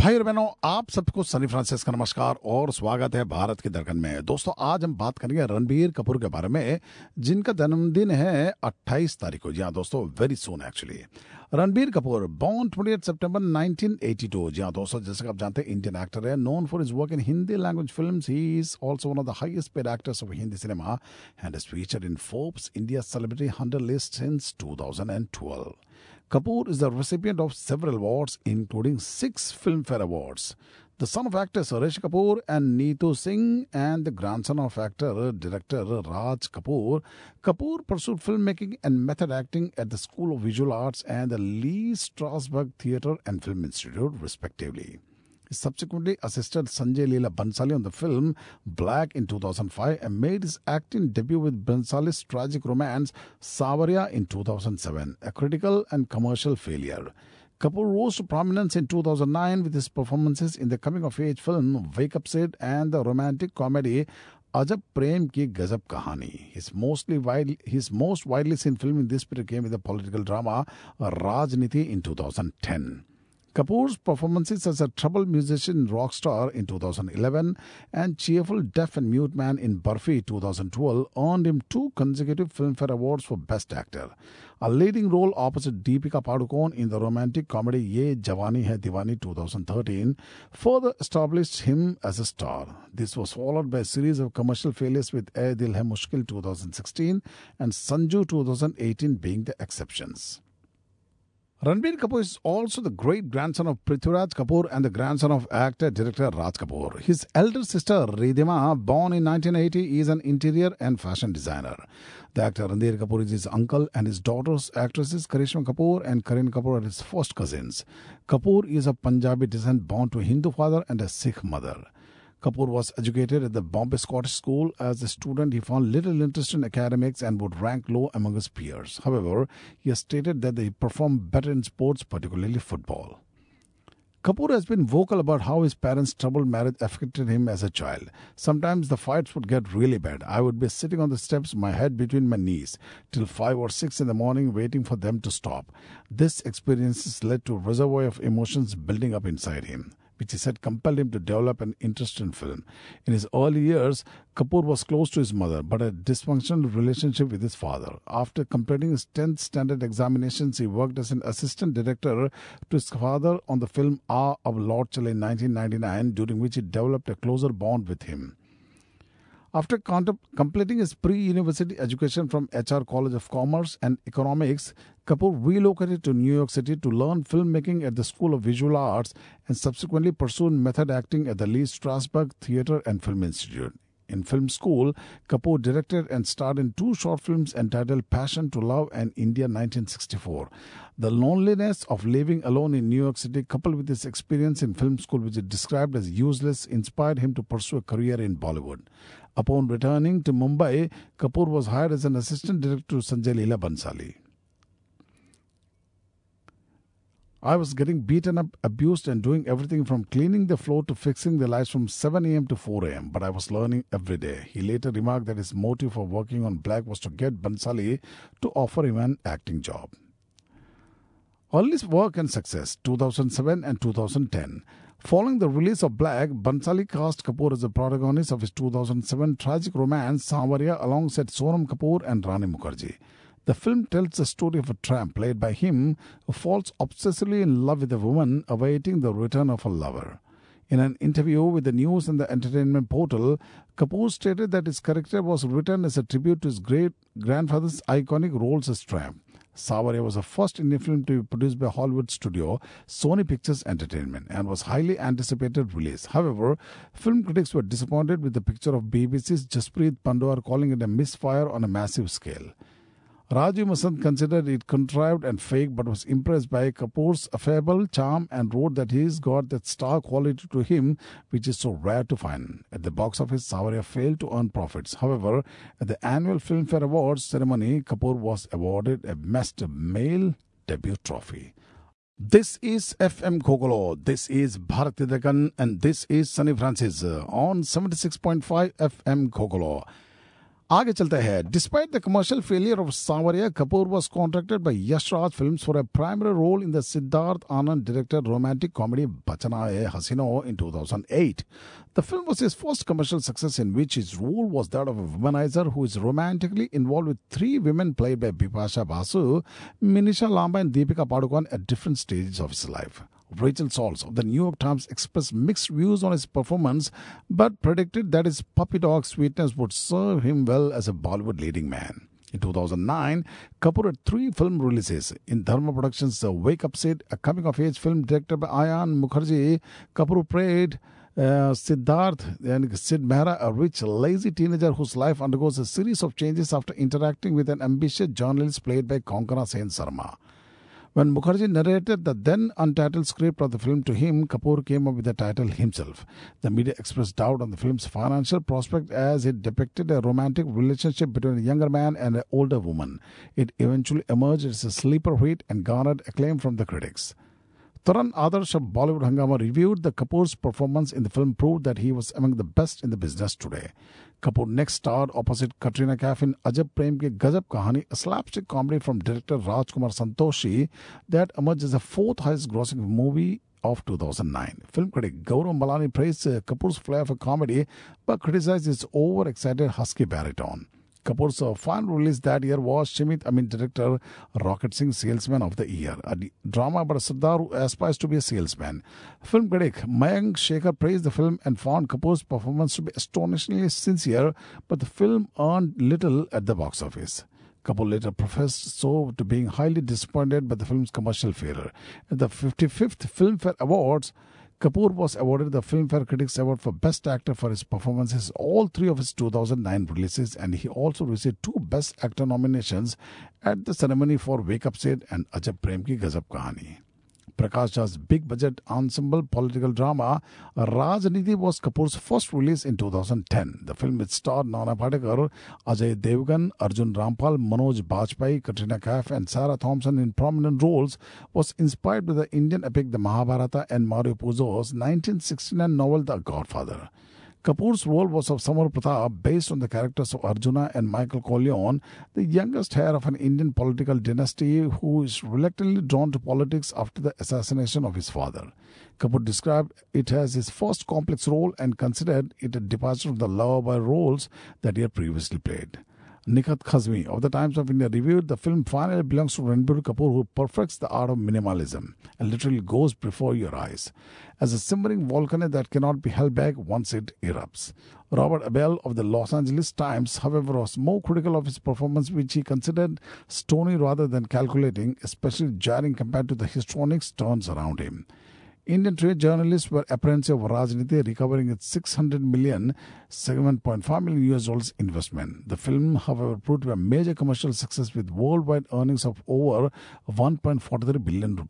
भाई और बहनों, आप सबको सनी फ्रांसिस का नमस्कार और स्वागत है भारत के दर्पण में। दोस्तों, आज हम बात करेंगे रणबीर कपूर के बारे में, जिनका जन्मदिन है 28 तारीख को। जी हाँ दोस्तों, very soon actually. Ranbir Kapoor born 28 सितंबर 1982। जी हाँ दोस्तों, जैसे कि आप जानते हैं, इंडियन एक्टर है, known for his work in Hindi language films. He is also one of the highest paid actors of Hindi cinema and is featured in Forbes India celebrity 100 list since 2012. Kapoor is the recipient of several awards, including 6 Filmfare Awards. The son of actor Suresh Kapoor and Neetu Singh, and the grandson of actor-director Raj Kapoor, Kapoor pursued filmmaking and method acting at the School of Visual Arts and the Lee Strasberg Theatre and Film Institute, respectively. He subsequently assisted Sanjay Leela Bhansali on the film Black in 2005 and made his acting debut with Bhansali's tragic romance Savarya in 2007, a critical and commercial failure. Kapoor rose to prominence in 2009 with his performances in the coming-of-age film Wake Up Sid and the romantic comedy Ajab Prem Ki Gazab Kahani. His most widely seen film in this period came with the political drama Rajniti in 2010. Kapoor's performances as a troubled musician rock star in 2011 and cheerful deaf and mute man in Barfi 2012 earned him 2 consecutive Filmfare Awards for Best Actor. A leading role opposite Deepika Padukone in the romantic comedy Ye Jawani Hai Diwani 2013 further established him as a star. This was followed by a series of commercial failures with Ae Dil Hai Mushkil 2016 and Sanju 2018 being the exceptions. Ranbir Kapoor is also the great-grandson of Prithviraj Kapoor and the grandson of actor-director Raj Kapoor. His elder sister, Ridhima, born in 1980, is an interior and fashion designer. The actor Ranbir Kapoor is his uncle, and his daughters, actresses Karishma Kapoor and Kareena Kapoor, are his first cousins. Kapoor is of Punjabi descent, born to a Hindu father and a Sikh mother. Kapoor was educated at the Bombay Scottish School. As a student, he found little interest in academics and would rank low among his peers. However, he has stated that he performed better in sports, particularly football. Kapoor has been vocal about how his parents' troubled marriage affected him as a child. Sometimes the fights would get really bad. I would be sitting on the steps, my head between my knees, till 5 or 6 in the morning waiting for them to stop. This experience has led to a reservoir of emotions building up inside him, which he said compelled him to develop an interest in film. In his early years, Kapoor was close to his mother, but had a dysfunctional relationship with his father. After completing his 10th standard examinations, he worked as an assistant director to his father on the film Ah of Lord Chale in 1999, during which he developed a closer bond with him. After completing his pre-university education from HR College of Commerce and Economics, Kapoor relocated to New York City to learn filmmaking at the School of Visual Arts and subsequently pursued method acting at the Lee Strasberg Theatre and Film Institute. In film school, Kapoor directed and starred in 2 short films entitled Passion to Love and India 1964. The loneliness of living alone in New York City, coupled with his experience in film school, which he described as useless, inspired him to pursue a career in Bollywood. Upon returning to Mumbai, Kapoor was hired as an assistant director to Sanjay Leela Bhansali. I was getting beaten up, abused, and doing everything from cleaning the floor to fixing the lights from 7 a.m. to 4 a.m., but I was learning every day. He later remarked that his motive for working on Black was to get Bhansali to offer him an acting job. Early work and success, 2007 and 2010. Following the release of Black, Bhansali cast Kapoor as the protagonist of his 2007 tragic romance Savarya alongside Sonam Kapoor and Rani Mukherjee. The film tells the story of a tramp played by him who falls obsessively in love with a woman awaiting the return of her lover. In an interview with the news and the entertainment portal, Kapoor stated that his character was written as a tribute to his great-grandfather's iconic roles as tramp. Savarya was the first Indian film to be produced by Hollywood studio Sony Pictures Entertainment and was highly anticipated release. However, film critics were disappointed with the picture of BBC's Jaspreet Pandwar, calling it a misfire on a massive scale. Raju Masand considered it contrived and fake, but was impressed by Kapoor's affable charm and wrote that he's got that star quality to him which is so rare to find. At the box office, Savarya failed to earn profits. However, at the annual Filmfare Awards ceremony, Kapoor was awarded a Best Male Debut Trophy. This is FM Kokolo, this is Bharati Dakan, and this is Sunny Francis on 76.5 FM Kokolo. आगे चलते हैं. Despite the commercial failure of Savarya, Kapoor was contracted by Yash Raj Films for a primary role in the Siddharth Anand directed romantic comedy Bachana Hai Hasino in 2008. The film was his first commercial success in which his role was that of a womanizer who is romantically involved with three women played by Bipasha Basu, Minisha Lamba and Deepika Padukone at different stages of his life. Rachel Sauls of the New York Times expressed mixed views on his performance but predicted that his puppy dog sweetness would serve him well as a Bollywood leading man. In 2009, Kapoor had three film releases. In Dharma Productions' Wake Up Sid, a coming-of-age film directed by Ayan Mukherjee, Kapoor played Siddharth and Sid Mehra, a rich, lazy teenager whose life undergoes a series of changes after interacting with an ambitious journalist played by Konkona Sen Sarma. When Mukherjee narrated the then untitled script of the film to him, Kapoor came up with the title himself. The media expressed doubt on the film's financial prospect as it depicted a romantic relationship between a younger man and an older woman. It eventually emerged as a sleeper hit and garnered acclaim from the critics. Taran Adarsh of Bollywood Hungama reviewed the Kapoor's performance in the film proved that he was among the best in the business today. Kapoor next starred opposite Katrina Kaif in Ajab Prem Ki Gajab Kahani, a slapstick comedy from director Rajkumar Santoshi that emerged as the fourth highest grossing movie of 2009. Film critic Gaurav Malani praised Kapoor's flair for comedy but criticized his overexcited husky baritone. Kapoor's final release that year was Shimit Amin director Rocket Singh Salesman of the Year, a drama about a Sardar who aspires to be a salesman. Film critic Mayank Shekhar praised the film and found Kapoor's performance to be astonishingly sincere, but the film earned little at the box office. Kapoor later professed so to being highly disappointed by the film's commercial failure. At the 55th Filmfare Awards, Kapoor was awarded the Filmfare Critics Award for Best Actor for his performances all three of his 2009 releases, and he also received two Best Actor nominations at the ceremony for Wake Up Sid and Ajab Prem Ki Gajab Kahani. Prakash Jha's big-budget ensemble political drama Rajniti was Kapoor's first release in 2010. The film, which starred Nana Patekar, Ajay Devgan, Arjun Rampal, Manoj Bajpayee, Katrina Kaif and Sarah Thompson in prominent roles, was inspired by the Indian epic The Mahabharata and Mario Puzo's 1969 novel The Godfather. Kapoor's role was of Samar Pratap, based on the characters of Arjuna and Michael Corleone, the youngest heir of an Indian political dynasty who is reluctantly drawn to politics after the assassination of his father. Kapoor described it as his first complex role and considered it a departure from the lover-boy roles that he had previously played. Nikhat Khazmi of the Times of India reviewed the film finally belongs to Ranbir Kapoor, who perfects the art of minimalism and literally goes before your eyes. As a simmering volcano that cannot be held back once it erupts. Robert Abel of the Los Angeles Times, however, was more critical of his performance, which he considered stony rather than calculating, especially jarring compared to the histrionic turns around him. Indian trade journalists were apprehensive of Rajniti recovering its $600 million, $7.5 million US investment. The film, however, proved to be a major commercial success with worldwide earnings of over $1.43 billion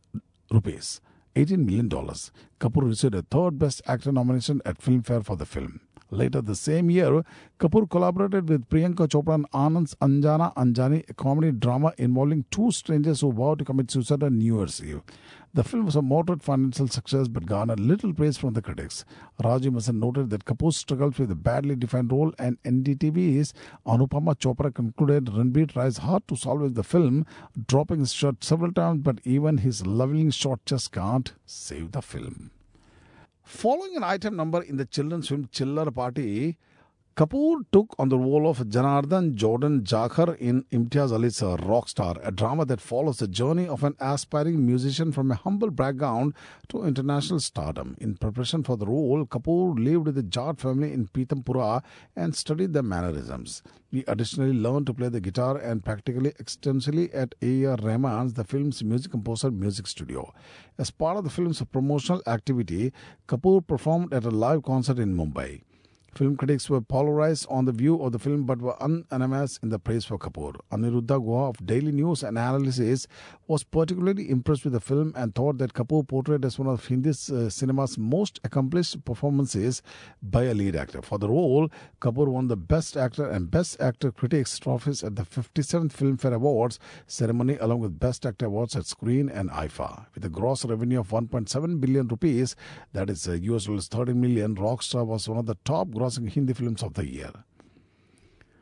rupees, $18 million. Kapoor received a third Best Actor nomination at Filmfare for the film. Later the same year, Kapoor collaborated with Priyanka Chopra and Anand's Anjana Anjani, a comedy drama involving two strangers who vow to commit suicide on New Year's Eve. The film was a moderate financial success but garnered little praise from the critics. Rajiv Masan noted that Kapoor struggles with a badly defined role, and NDTV's Anupama Chopra concluded Ranbir tries hard to salvage the film, dropping his shirt several times, but even his loving short chest can't save the film. Following an item number in the children's film Chiller Party, Kapoor took on the role of Janardhan Jordan Jakhar in Imtiaz Ali's Rockstar, a drama that follows the journey of an aspiring musician from a humble background to international stardom. In preparation for the role, Kapoor lived with the Jat family in Pitampura and studied their mannerisms. He additionally learned to play the guitar and practically extensively at A.R. Rahman's, the film's music composer, music studio. As part of the film's promotional activity, Kapoor performed at a live concert in Mumbai. Film critics were polarized on the view of the film but were unanimous in the praise for Kapoor. Aniruddha Guha of Daily News and Analysis was particularly impressed with the film and thought that Kapoor portrayed as one of Hindi cinema's most accomplished performances by a lead actor. For the role, Kapoor won the Best Actor and Best Actor Critics trophies at the 57th Filmfare Awards ceremony along with Best Actor awards at Screen and IFA. With a gross revenue of 1.7 billion rupees, that is US $30 million, Rockstar was one of the top grossing Hindi films of the year.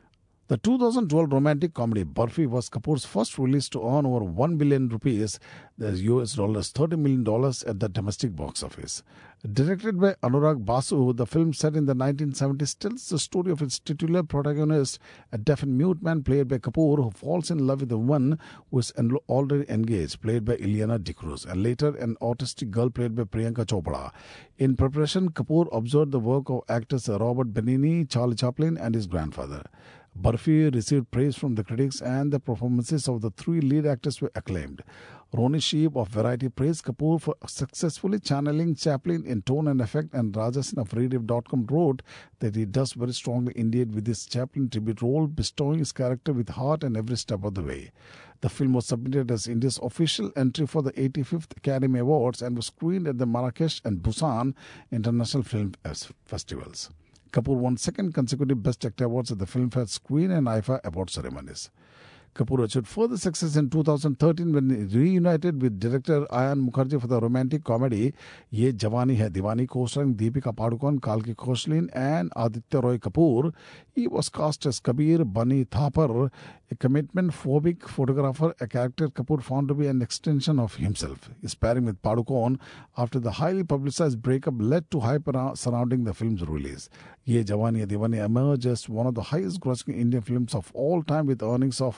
The 2012 romantic comedy Barfi was Kapoor's first release to earn over 1 billion rupees, that's US dollars $30 million at the domestic box office. Directed by Anurag Basu, the film set in the 1970s tells the story of its titular protagonist, a deaf and mute man played by Kapoor, who falls in love with a woman who is already engaged, played by Ileana D'Cruz, and later an autistic girl played by Priyanka Chopra. In preparation, Kapoor observed the work of actors Robert Benigni, Charlie Chaplin, and his grandfather. Barfi received praise from the critics, and the performances of the three lead actors were acclaimed. Roni Sheep of Variety praised Kapoor for successfully channeling Chaplin in tone and effect, and Rajasin of Rediff.com wrote that he does very strongly indeed with his Chaplin tribute role, bestowing his character with heart and every step of the way. The film was submitted as India's official entry for the 85th Academy Awards and was screened at the Marrakesh and Busan International Film Festivals. Kapoor won second consecutive Best Actor awards at the Filmfare Screen and IFA award ceremonies. Kapoor achieved further success in 2013 when he reunited with director Ayan Mukherjee for the romantic comedy Ye Jawani Hai Diwani, co-starring Deepika Padukone, Kalki Koechlin, and Aditya Roy Kapoor. He was cast as Kabir Bani Thapar, a commitment-phobic photographer, a character Kapoor found to be an extension of himself. His pairing with Padukone after the highly publicized breakup led to hype surrounding the film's release. Ye Jawani Hai Diwani emerged as one of the highest-grossing Indian films of all time with earnings of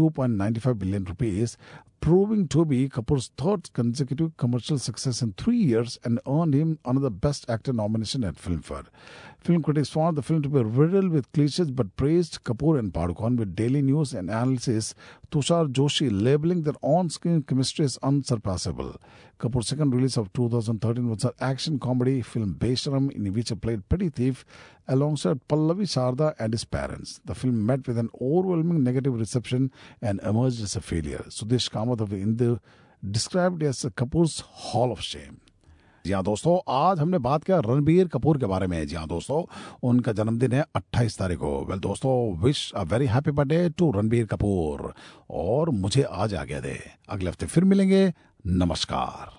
2.95 billion rupees, proving to be Kapoor's third consecutive commercial success in 3 years and earned him another Best Actor nomination at Filmfare. Film critics found the film to be riddled with cliches but praised Kapoor and Padukone, with Daily News and Analysis Tushar Joshi labeling their on-screen chemistry as unsurpassable. Kapoor's second release of 2013 was an action comedy film Besharam, in which he played petty thief alongside Pallavi Sharda and his parents. The film met with an overwhelming negative reception and emerged as a failure. Sudesh Kamath of Hindu described it as Kapoor's Hall of Shame. जी हाँ दोस्तों, आज हमने बात किया रणबीर कपूर के बारे में। जी हाँ दोस्तों, उनका जन्मदिन है 28 तारीख को। वेल दोस्तों, wish a very happy birthday to Ranbir Kapoor. और मुझे आज आज्ञा दे, अगले हफ्ते फिर मिलेंगे। नमस्कार।